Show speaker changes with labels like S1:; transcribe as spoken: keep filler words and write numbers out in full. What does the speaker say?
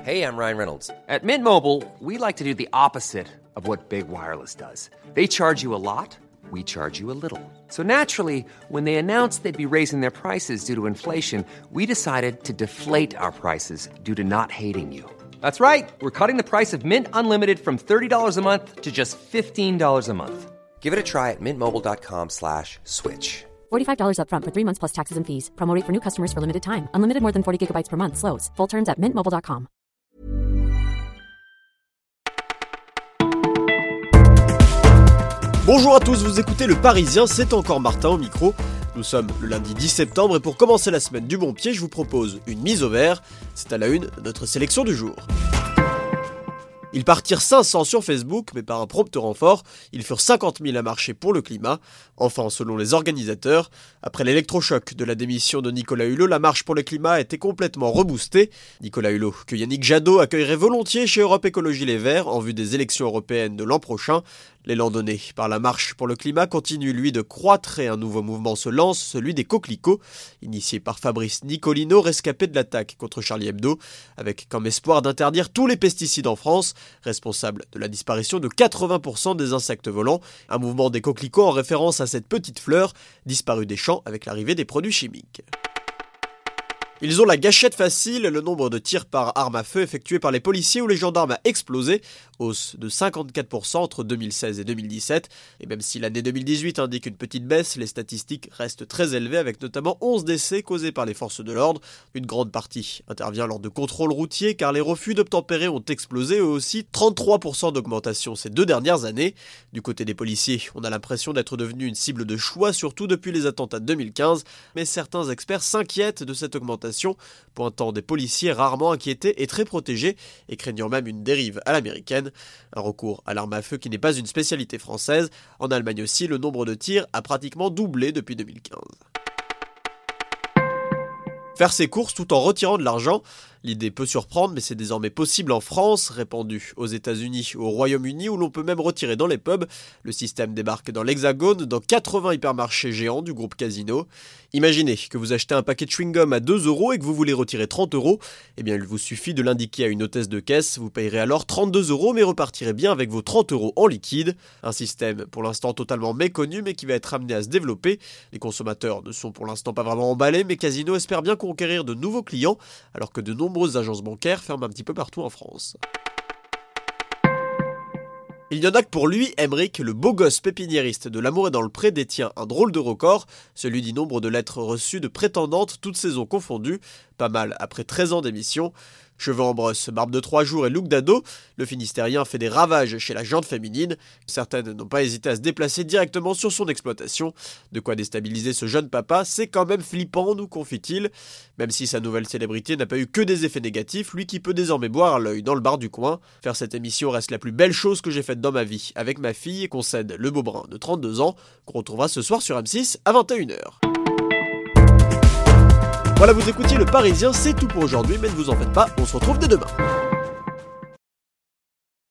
S1: Hey, I'm Ryan Reynolds. At Mint Mobile, we like to do the opposite of what Big Wireless does. They charge you a lot, we charge you a little. So naturally, when they announced they'd be raising their prices due to inflation, we decided to deflate our prices due to not hating you. That's right. We're cutting the price of Mint Unlimited from thirty dollars a month to just fifteen dollars a month. Give it a try at mintmobile.com slash switch.
S2: forty-five dollars up front for three months plus taxes and fees. Promo rate for new customers for limited time. Unlimited more than forty gigabytes per month. Slows full terms at mint mobile dot com.
S3: Bonjour à tous, vous écoutez Le Parisien, c'est encore Martin au micro. Nous sommes le lundi dix septembre et pour commencer la semaine du bon pied, je vous propose une mise au vert. C'est à la une de notre sélection du jour. Ils partirent cinq cents sur Facebook, mais par un prompt renfort, ils furent cinquante mille à marcher pour le climat. Enfin, selon les organisateurs, après l'électrochoc de la démission de Nicolas Hulot, la marche pour le climat a été complètement reboostée. Nicolas Hulot, que Yannick Jadot accueillerait volontiers chez Europe Écologie Les Verts en vue des élections européennes de l'an prochain. L'élan donné par la marche pour le climat continue lui de croître et un nouveau mouvement se lance, celui des coquelicots, initié par Fabrice Nicolino, rescapé de l'attaque contre Charlie Hebdo, avec comme espoir d'interdire tous les pesticides en France, responsable de la disparition de quatre-vingts pour cent des insectes volants, un mouvement des coquelicots en référence à cette petite fleur disparue des champs avec l'arrivée des produits chimiques. Ils ont la gâchette facile, le nombre de tirs par arme à feu effectués par les policiers ou les gendarmes a explosé, hausse de cinquante-quatre pour cent entre deux mille seize et deux mille dix-sept. Et même si l'année deux mille dix-huit indique une petite baisse, les statistiques restent très élevées avec notamment onze décès causés par les forces de l'ordre. Une grande partie intervient lors de contrôles routiers car les refus d'obtempérer ont explosé eux aussi, trente-trois pour cent d'augmentation ces deux dernières années. Du côté des policiers, on a l'impression d'être devenu une cible de choix, surtout depuis les attentats de deux mille quinze, mais certains experts s'inquiètent de cette augmentation, pointant des policiers rarement inquiétés et très protégés, et craignant même une dérive à l'américaine. Un recours à l'arme à feu qui n'est pas une spécialité française. En Allemagne aussi, le nombre de tirs a pratiquement doublé depuis deux mille quinze. Faire ses courses tout en retirant de l'argent, l'idée peut surprendre, mais c'est désormais possible en France, répandu aux États-Unis ou au Royaume-Uni, où l'on peut même retirer dans les pubs. Le système débarque dans l'Hexagone, dans quatre-vingts hypermarchés géants du groupe Casino. Imaginez que vous achetez un paquet de chewing-gum à deux euros et que vous voulez retirer trente euros. Eh bien, il vous suffit de l'indiquer à une hôtesse de caisse. Vous payerez alors trente-deux euros, mais repartirez bien avec vos trente euros en liquide. Un système pour l'instant totalement méconnu, mais qui va être amené à se développer. Les consommateurs ne sont pour l'instant pas vraiment emballés, mais Casino espère bien conquérir de nouveaux clients, alors que de nombreuses agences bancaires ferment un petit peu partout en France. Il y en a que pour lui, Emeric, le beau gosse pépiniériste de L'Amour est dans le pré, détient un drôle de record, celui du nombre de lettres reçues de prétendantes, toutes saisons confondues, pas mal après treize ans d'émission. Cheveux en brosse, barbe de trois jours et look d'ado, le Finistérien fait des ravages chez la gente féminine. Certaines n'ont pas hésité à se déplacer directement sur son exploitation. De quoi déstabiliser ce jeune papa, c'est quand même flippant, nous confie-t-il. Même si sa nouvelle célébrité n'a pas eu que des effets négatifs, lui qui peut désormais boire à l'œil dans le bar du coin. Faire cette émission reste la plus belle chose que j'ai faite dans ma vie, avec ma fille, concède le beau brun de trente-deux ans, qu'on retrouvera ce soir sur M six à vingt et une heures. Voilà, vous écoutiez Le Parisien, c'est tout pour aujourd'hui, mais ne vous en faites pas, on se retrouve dès demain.